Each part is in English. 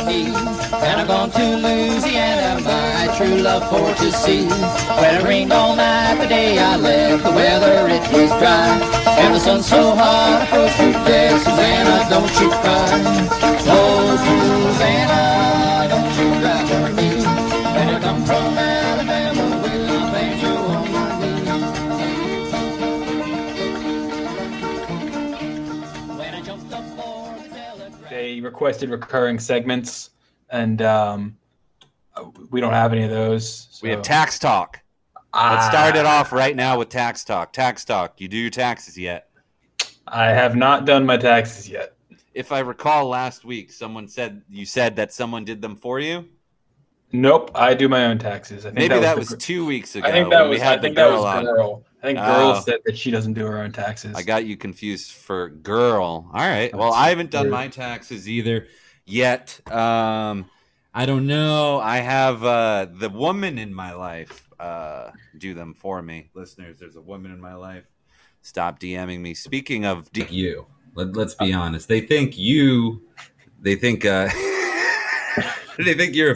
need. And I'm gone to Louisiana, my true love for to see. When it rained all night the day I left, the weather it was dry. And the sun's so hot I froze to death. Susanna, don't you cry. Oh, Susanna, don't you cry for me. When I come from Alabama with a banjo on my knee. When I jumped up for the telegraph. They requested recurring segments, and we don't have any of those. So. We have tax talk. Let's start it off right now with tax talk. Tax talk. You do your taxes yet? I have not done my taxes yet. If I recall last week, you said that someone did them for you? Nope, I do my own taxes. I think Maybe that was 2 weeks ago. I think that was Girl. I think Girl said that she doesn't do her own taxes. I got you confused for Girl. All right. Well, I haven't done my taxes either yet. I don't know. I have the woman in my life do them for me. Listeners, there's a woman in my life. Stop DMing me. Speaking of you, let's be honest. They think you're a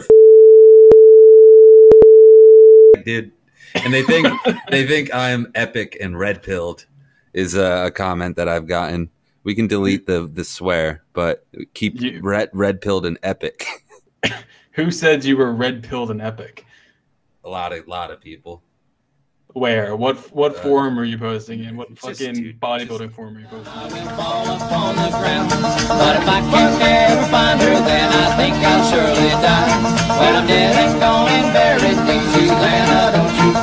dude, and they think I'm epic and red pilled is a comment that I've gotten. We can delete the swear, but keep red pilled and epic. Who said you were red pilled and epic? A lot of people. Where? What forum are you posting in? What fucking bodybuilding forum are you posting in? Fall upon the ground. But if I can never find her, then I think I'll surely die. When I'm dead and gone and buried, think Susanna, don't you